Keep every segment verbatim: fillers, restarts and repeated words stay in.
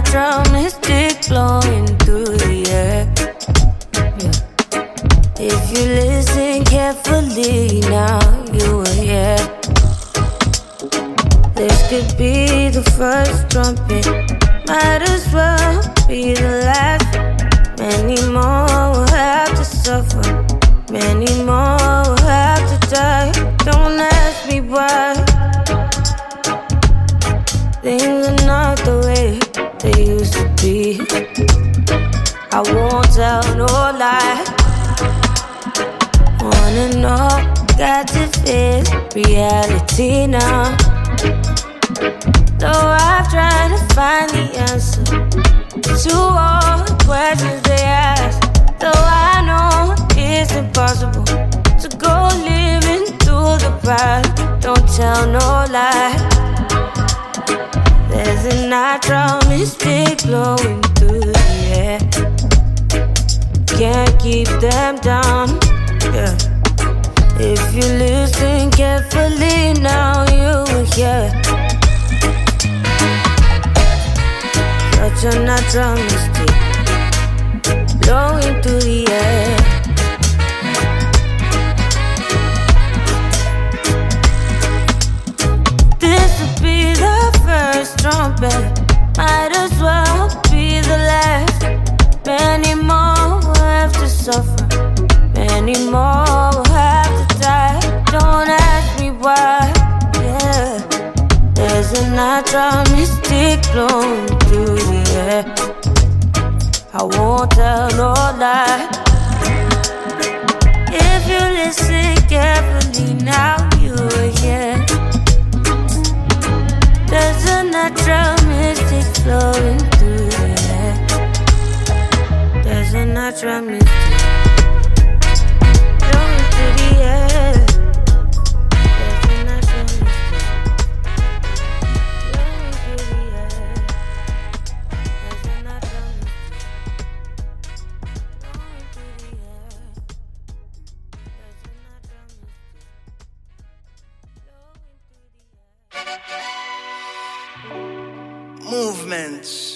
natural mystic flowing through the air. Yeah. If you listen carefully, now you will hear. This could be the first trumpet, might as well be the last. Many more will have to suffer, many more will have to die. Don't ask me why. Things are not the way they used to be. I won't tell no lie. Wanna know, got to face reality now. Though I've tried to find the answer to all the questions they ask. Though I know it's impossible to go living through the past. Don't tell no lie. There's a natural mystic flowing through the air. Can't keep them down, yeah. If you listen carefully, now you will hear. Such a natural mystic flowing through the air. This will be the first trumpet, might as well be the last. Many more will have to suffer, many more will have to die. Don't ask me why, yeah. There's a natural mystic flowing through the air. I won't tell no lie. If you listen carefully, now you will hear. There's a natural mystic flowing through the air. There's a natural mystic flowing through the air. There's a natural mystic flowing through the air. There's a natural mystic flowing through the air. There's a natural mystic flowing through the air. Movements.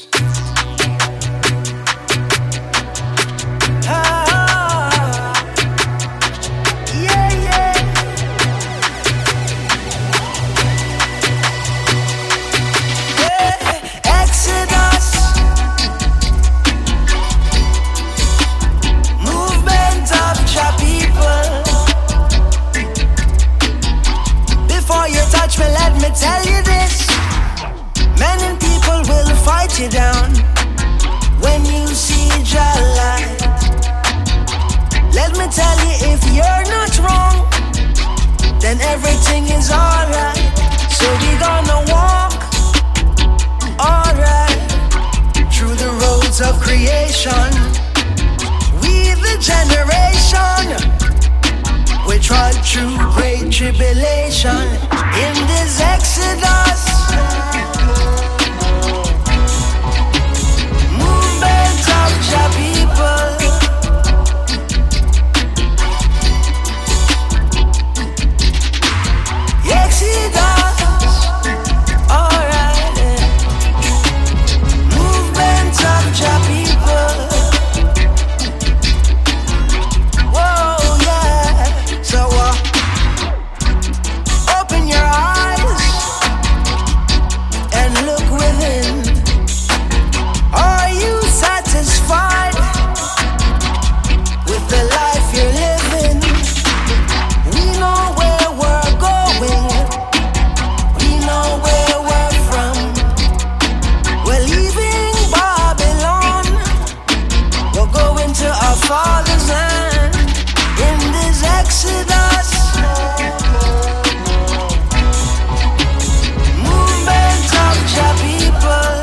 Tell you this, many people will fight you down when you see your light. Let me tell you, if you're not wrong, then everything is alright. So we're gonna walk alright through the roads of creation. We the generation, we tried through great tribulation. In this exodus, movement of your people. Exodus, alright, yeah. Movement of your people. Whoa, yeah. So uh, open your eyes and look within. Are you satisfied with the life you're living? We know where we're going, we know where we're from. We're leaving Babylon, we're going to our Father's land. In this exodus, movement of your people.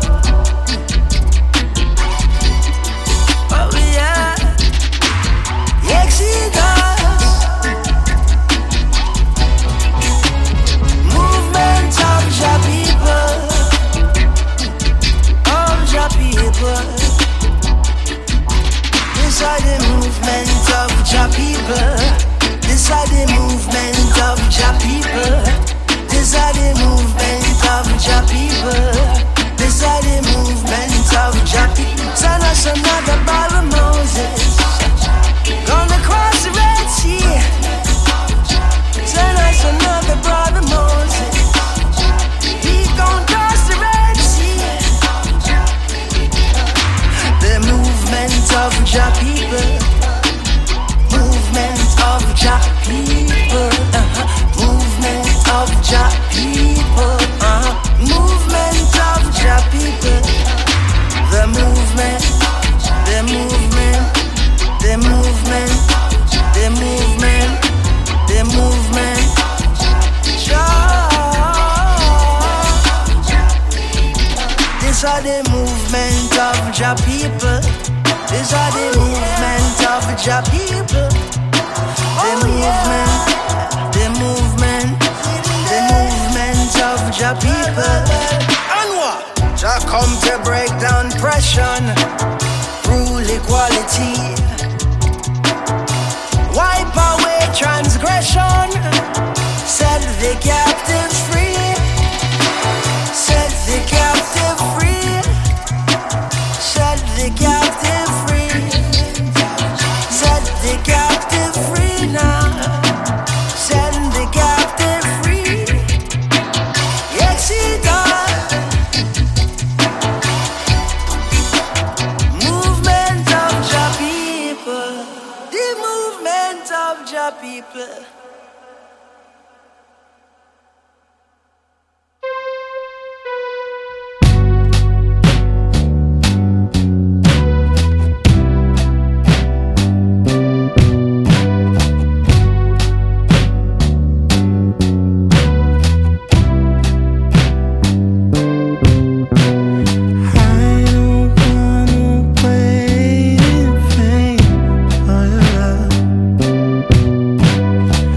Oh yeah, exodus, movement of your people, of your people. This are the movement of your people. This are the movement of your people. This are the movement of your people. This These are the movement of Jah people. Send us another Bible Moses. Gonna cross the Red Sea. Send us another brother Moses. He gon' cross the Red Sea. The movement of Jah people. Movement of Jah people. Uh-huh. Movement of Jah people. Uh-huh. Movement of Jah people. The movement. The movement. The movement. The movement. The movement. Jah. These are the movement of Jah people. These are the movement of Jah people. The movement. The movement. The movement of Jah people. And what? Jah come to break down oppression, rule equality, wipe away transgression, set the captive free, set the captive free, set the captive free, set the captive free now, set the captive free. Yes, he does. Movement of Jah people. The movement of Jah people. I don't wanna wait in vain for your love.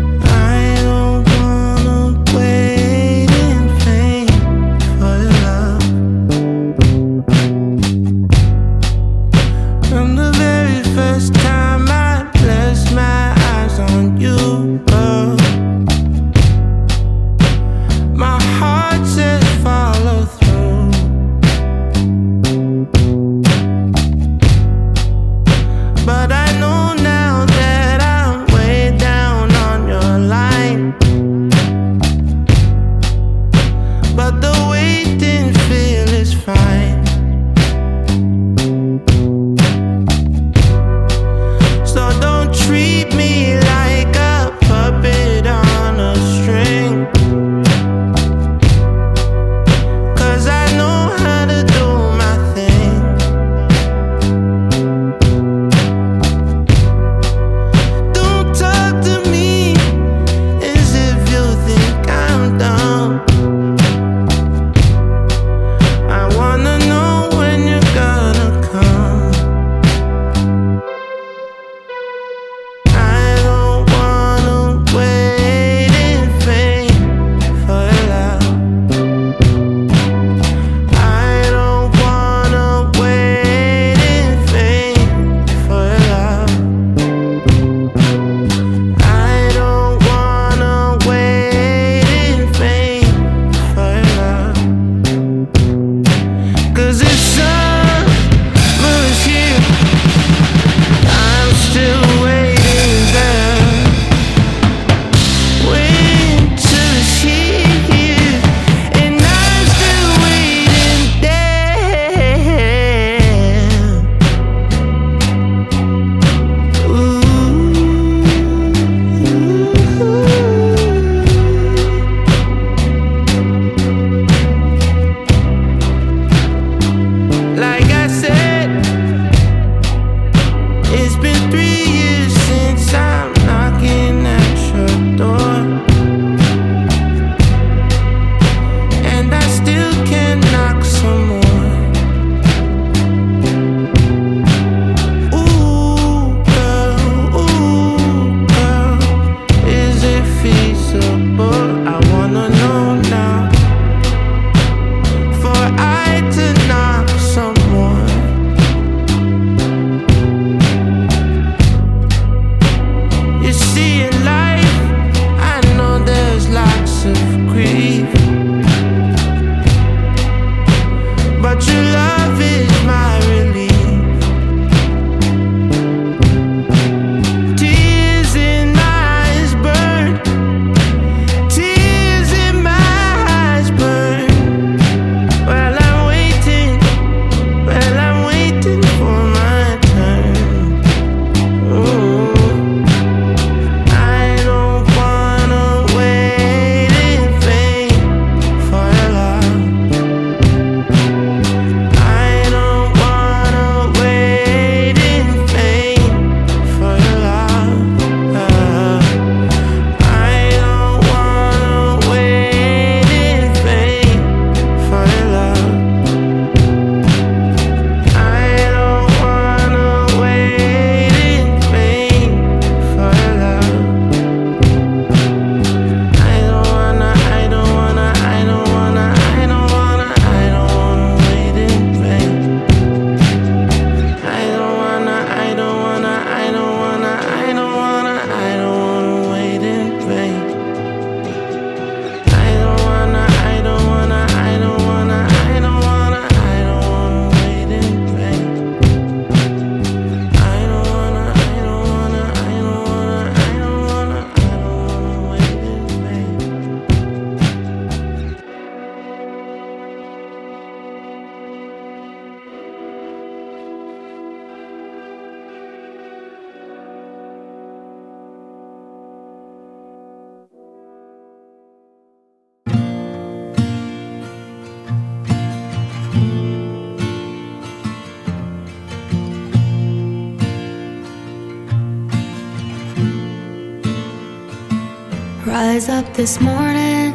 Rise up this morning,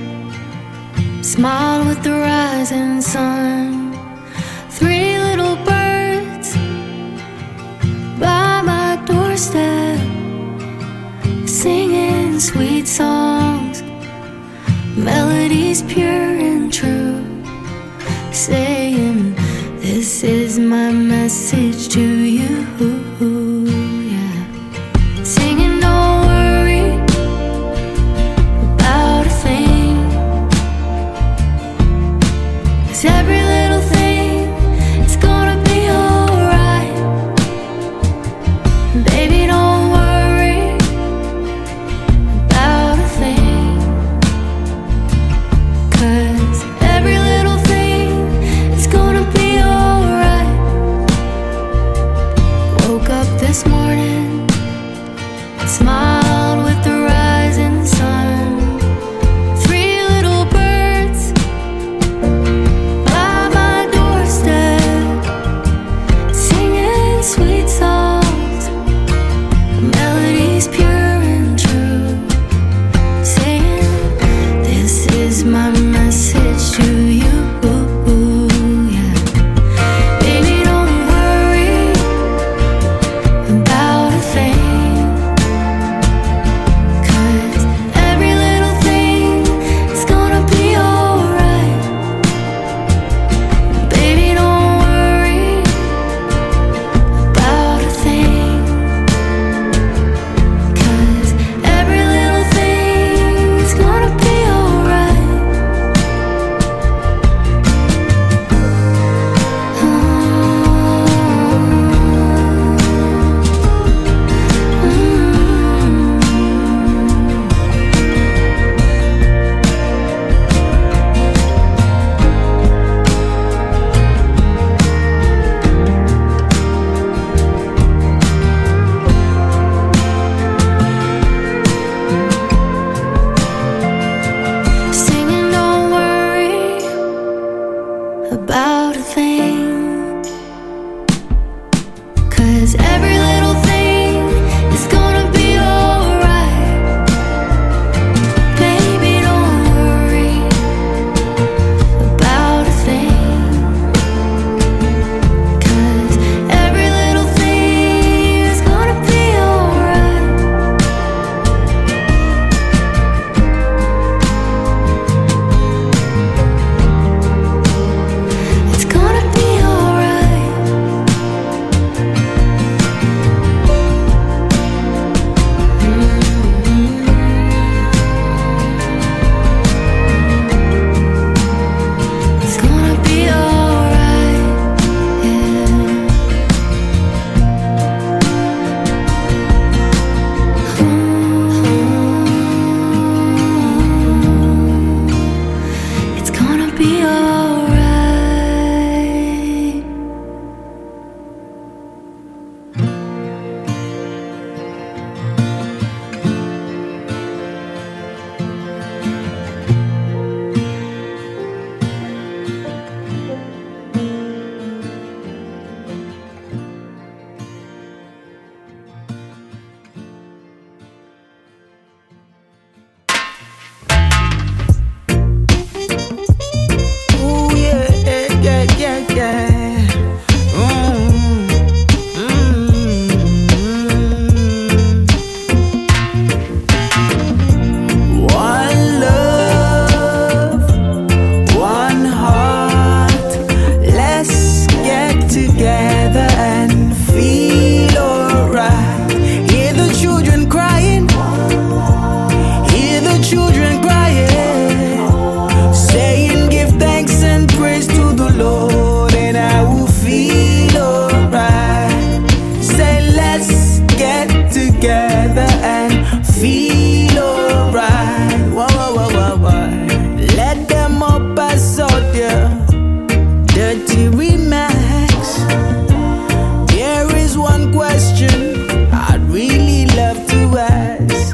smile with the rising sun. Three little birds by my doorstep, singing sweet songs, melodies pure and true, saying, this is my message to you. Yeah. Singing, don't worry about a thing, 'cause every little thing is gonna be alright. Baby, don't worry about a thing, 'cause every little thing is gonna be alright. Woke up this morning, smiled with the rising sun. Three little birds by my doorstep, singing sweet songs, melodies pure and true, saying, this is my message to you. Yeah. Baby, don't worry about a thing, 'cause every little thing is gonna be alright. Baby, don't worry about a thing, 'cause every little thing is gonna be alright. Singing, don't worry about a thing, 'cause every little thing is gonna be alright. Baby, don't worry about a thing, 'cause every little thing is gonna be alright. It's gonna be alright. It's gonna be alright. Yeah. It's gonna be alright. Ooh, yeah, yeah, yeah, yeah. Mm, mm. One love, one heart. Let's get together and feel alright. Hear the children crying, hear the children crying, saying give thanks and praise to the Lord, and I will feel alright. Say let's get together and feel alright. Whoa, whoa, whoa, whoa, whoa. Let them up as out there, dirty remix. There is one question I'd really love to ask.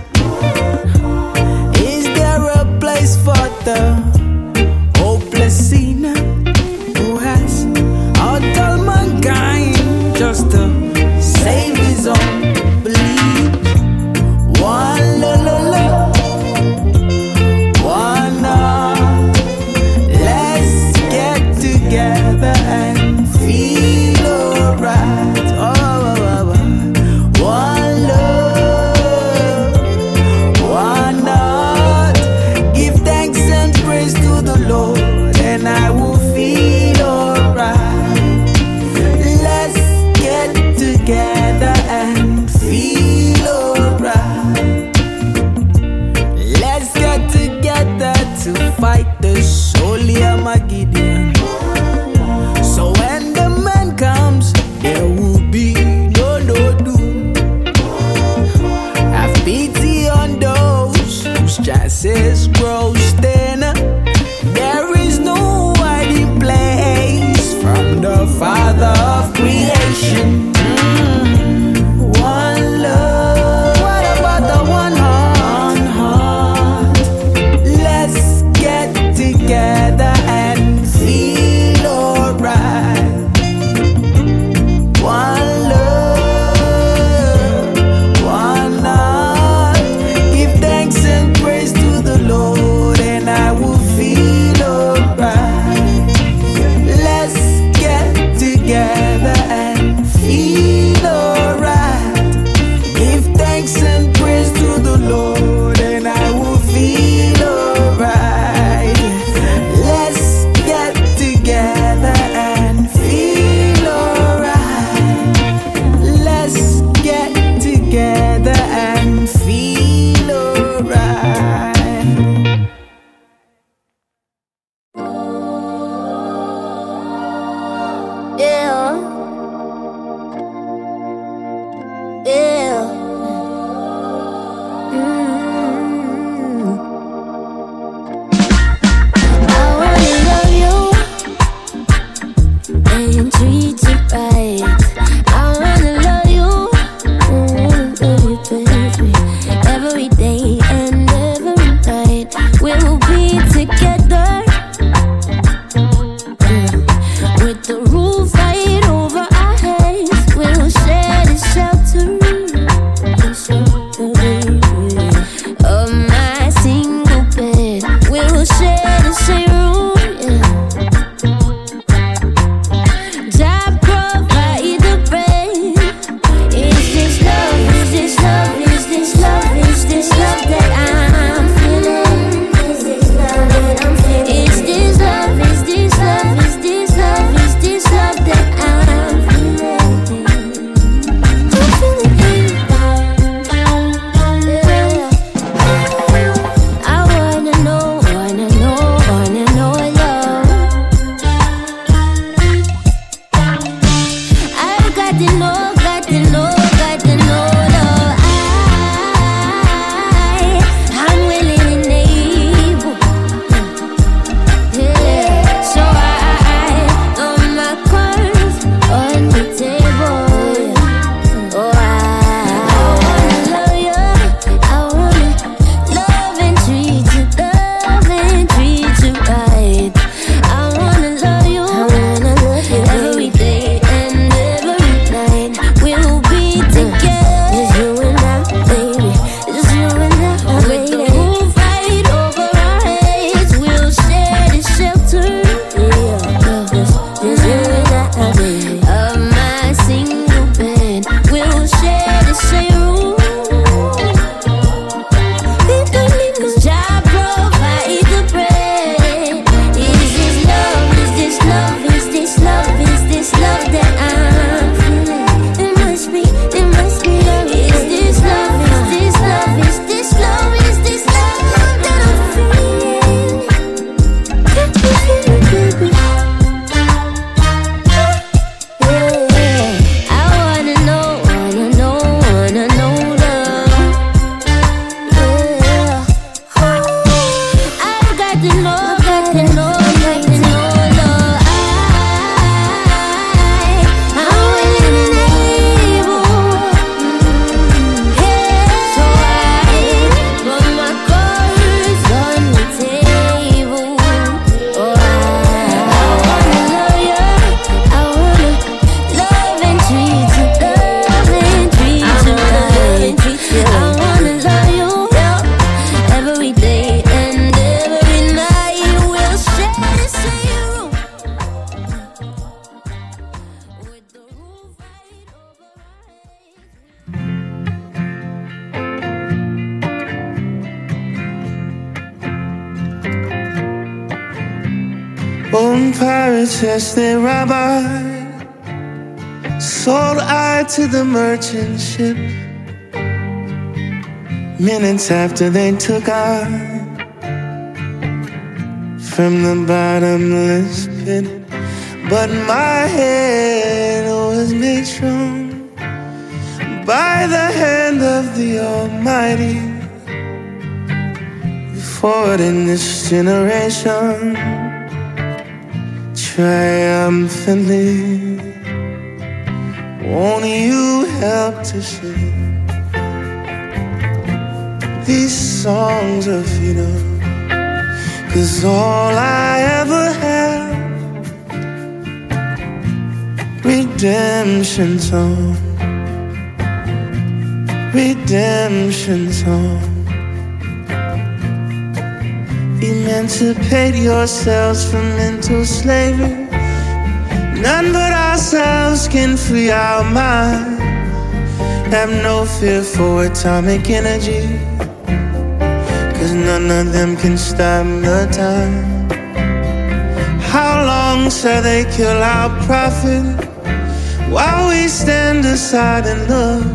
Is there a place for the hopeless sinner who has all mankind just to save his own belief? Own pirates as they rob I, sold I to the merchant ship. Minutes after they took I from the bottomless pit. But my head was made strong by the hand of the Almighty. Forward in this generation, triumphantly, won't you help to sing these songs of freedom? 'Cause all I ever had, redemption song, redemption song. Emancipate yourselves from mental slavery. None but ourselves can free our minds. Have no fear for atomic energy, 'cause none of them can stop the time. How long shall they kill our prophet while we stand aside and look?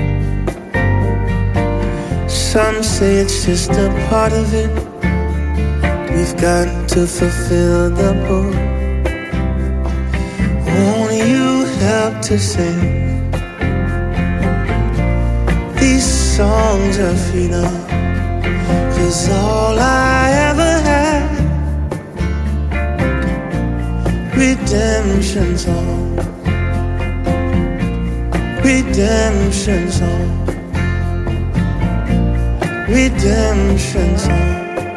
Some say it's just a part of it. We've got to fulfill the book. Won't you help to sing these songs of freedom? 'Cause all I ever had, redemption song, redemption song, redemption song.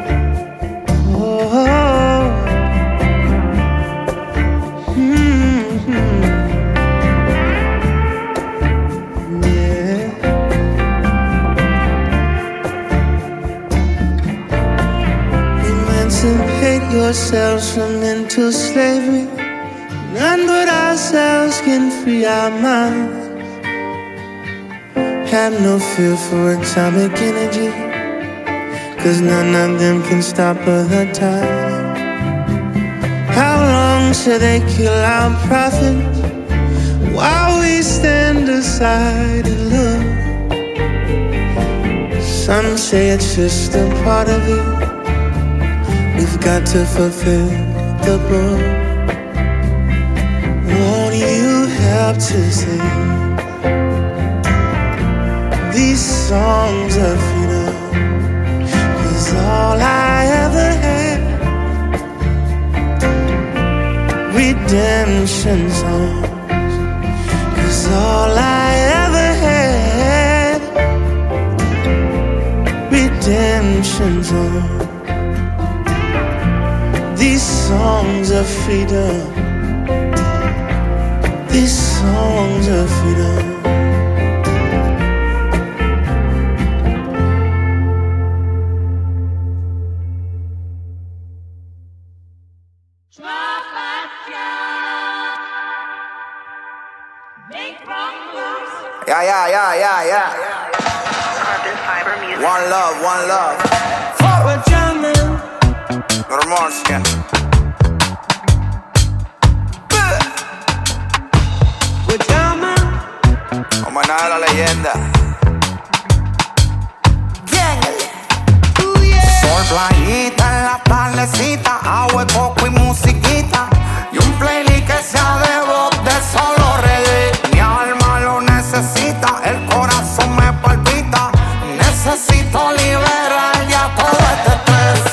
Emancipate yourselves from mental slavery. None but ourselves can free our minds. Have no fear for atomic energy, 'cause none of them can stop the time. How long shall they kill our prophets while we stand aside and look? Some say it's just a part of it. We've got to fulfill the book. Won't you help to sing these songs of freedom? 'Cause all I ever had, redemption songs. 'Cause all I ever had, redemption songs. These songs of freedom, these songs of freedom. Yeah, yeah, yeah, yeah, yeah. One love, one love. We're jamming. Normalskie. We're jamming. Homenaje a la leyenda. Sol, playita en la tardecita, agua, coco y musiquita, y un playlist que sea de voz de solo reggae. Mi alma lo necesita, el corazón me palpita, necesito liberar ya todo este estrés.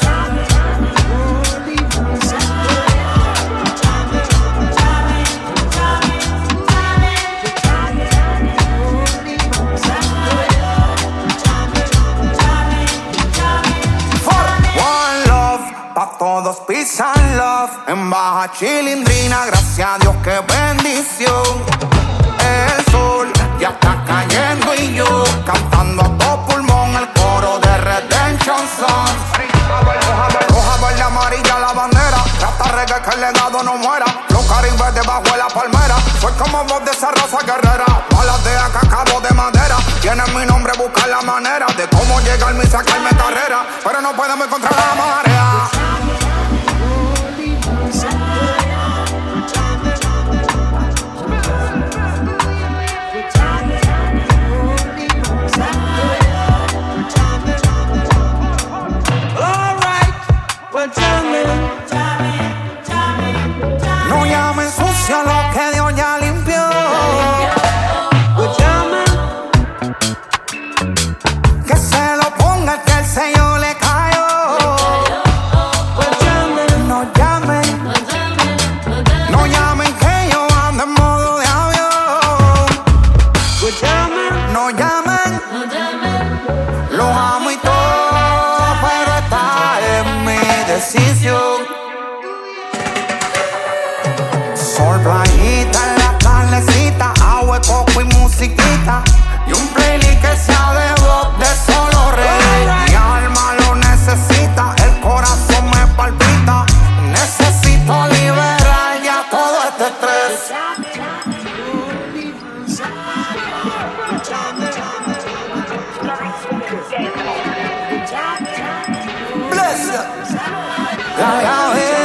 Todos peace and love, en baja chilindrina, gracias a Dios, qué bendición. El sol ya está cayendo y yo cantando a todo pulmón el coro de Redemption Song. Roja, verde, amarilla la bandera, hasta reggae que el legado no muera. Los caribes debajo de la palmera, soy como voz de esa raza guerrera. Balas de acá, cabo de madera, tienen mi nombre, buscar la manera de cómo llegarme y sacarme carrera, pero no podemos encontrar la marea. sello le cayó. Pues llamen, No llamen, no llamen que yo ando en modo de avión. pues llamen, No llamen, los amo y todo, pero esta es mi decisión. Sol, playita en la tardecita, agua, coco y musiquita. Y un playlist que sea de rock, de solo reggae. Mi alma lo necesita, el corazón me palpita. Necesito liberar ya todo este estrés. Bless you. Ya, ya, eh.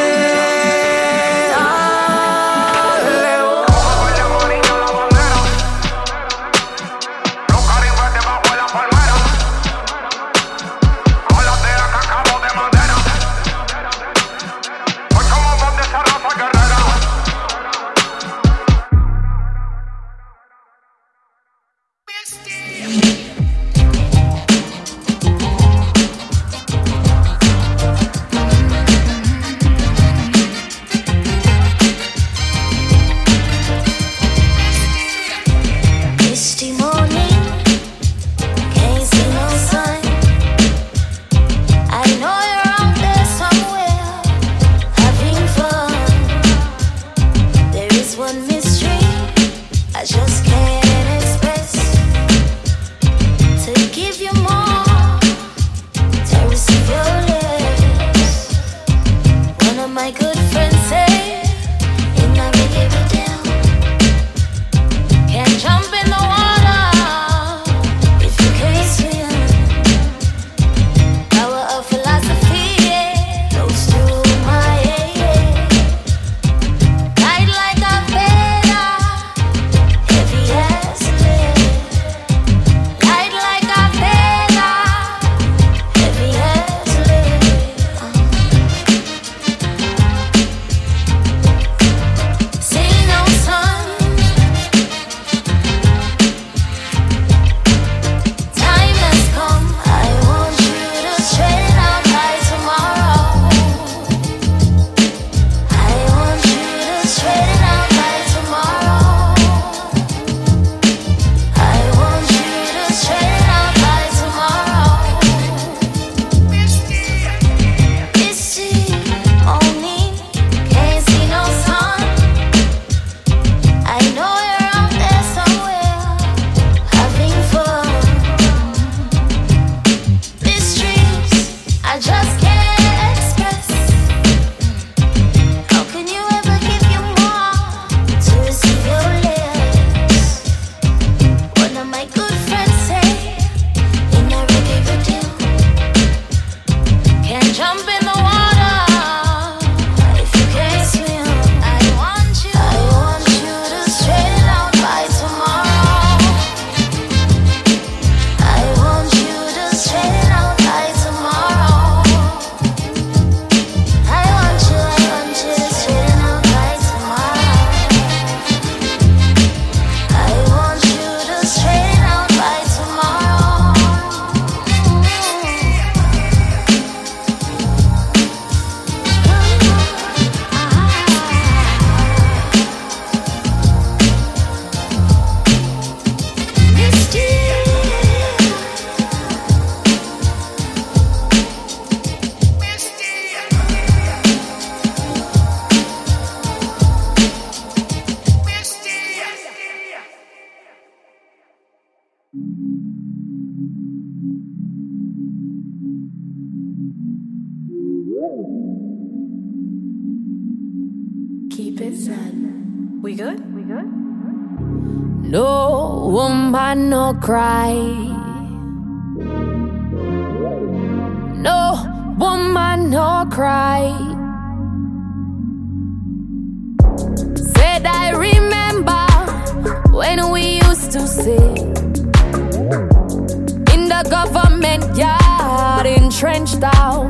Keep it zen. We good? We good? No woman, no cry. No woman, no cry. Said I remember when we used to sit in the government yard, entrenched out,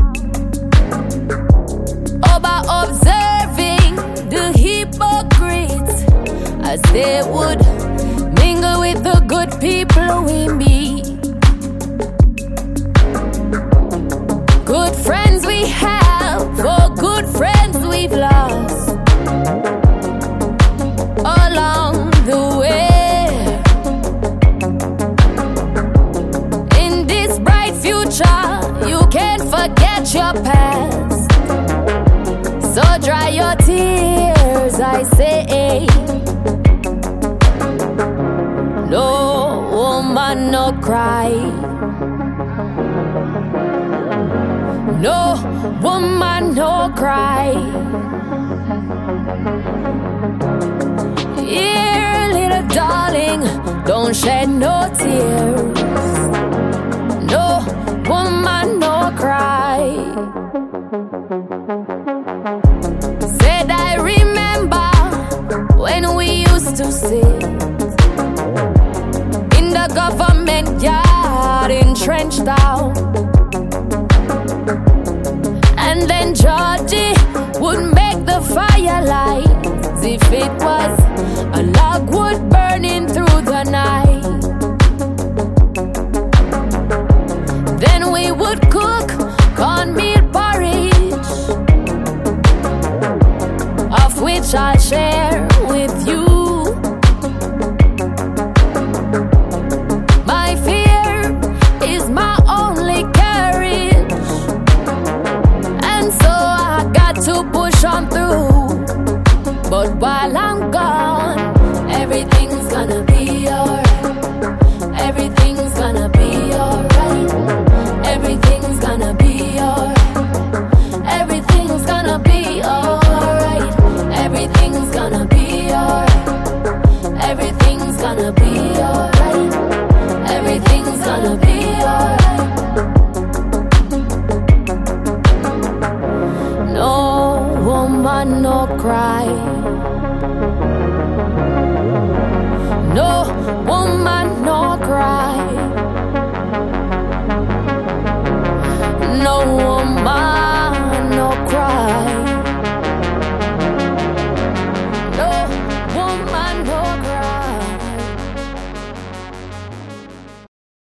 over observing the hypocrites as they would mingle with the good people we meet. touch your past. So dry your tears, I say. No woman, no cry. No woman, no cry. Here, little darling, don't shed no tears. No woman, no cry. Said I remember when we used to sit in the government yard, entrenched out. And then Georgie would make the firelight as if it was a logwood burning through the night. Then we would cook cornmeal porridge, of which I'll share with you. My fear is my only courage, and so I got to push on through. But while I'm gone, everything's gonna be alright. Everything's gonna be alright. Everything's gonna be alright. Everything's gonna be alright. Everything's gonna be alright. Everything's gonna be alright. Everything's gonna be alright. No woman, no cry. No woman.